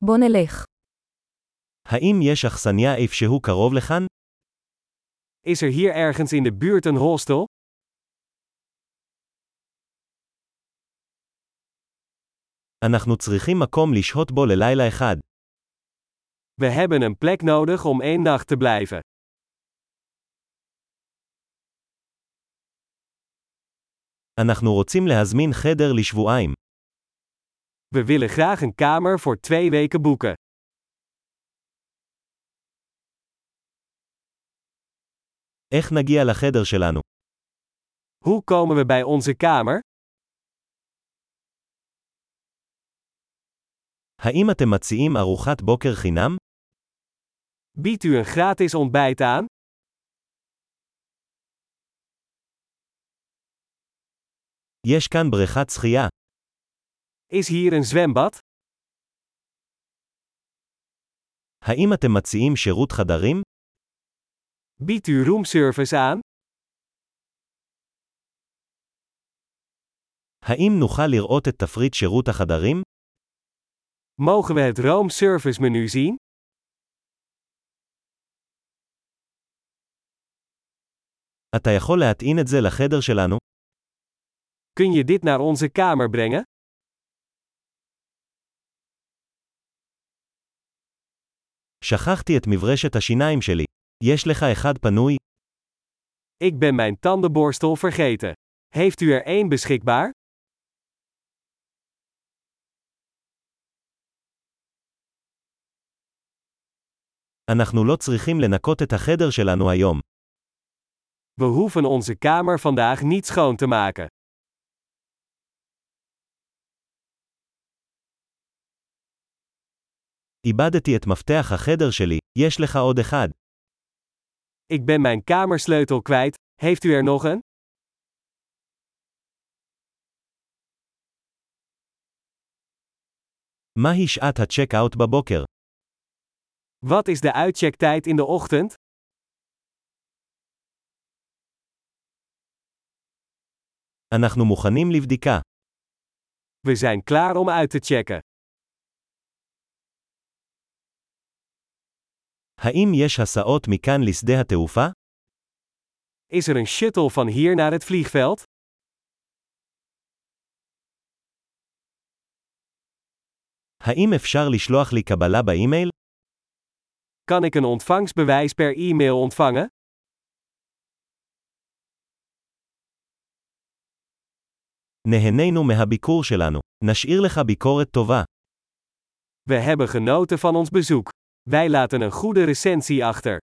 בוא נלך. האם יש אכסניה איפשהו קרוב לכאן? Is er hier ergens in de buurt een hostel? אנחנו צריכים מקום לשהות בו ללילה אחד. We hebben een plek nodig om 1 nacht te blijven. אנחנו רוצים להזמין חדר לשבועיים. We willen graag een kamer voor 2 weken boeken. איך נגיע לחדר שלנו? Hoe komen we bij onze kamer? האם אתם מציעים ארוחת בוקר חינם? Biedt u een gratis ontbijt aan? יש כאן בריכת שחייה. Is hier een zwembad? האם אתם מציעים שירות חדרים? Biedt u roomservice aan? האם נוכל לראות את תפריט שירות החדרים? Mogen we het roomservice menu zien? אתה יכול להטעין את זה לחדר שלנו? Kun je dit naar onze kamer brengen? שכחתי את מברשת השיניים שלי. יש לך אחד פנוי? Ik ben mijn tandenborstel vergeten. Heeft u er 1 beschikbaar? אנחנו לא צריכים לנקות את החדר שלנו היום. We hoeven onze kamer vandaag niet schoon te maken. איבדתי את מפתח החדר שלי, יש לך עוד אחד. Ik ben mijn kamersleutel kwijt, heeft u er nog een? מהי שעת הצ'ק-אאוט בבוקר? Wat is de uitchecktijd in de ochtend? אנחנו מוכנים לבדיקה. We zijn klaar om uit te checken. האם יש הסעות מכאן לשדה התעופה? Is er een shuttle van hier naar het vliegveld? האם אפשר לשלוח לי קבלה באימייל? Kan ik een ontvangstbewijs per e-mail ontvangen? נהנינו מהביקור שלנו. נשאיר לך ביקורת טובה. We hebben genoten van ons bezoek. Wij laten een goede recensie achter.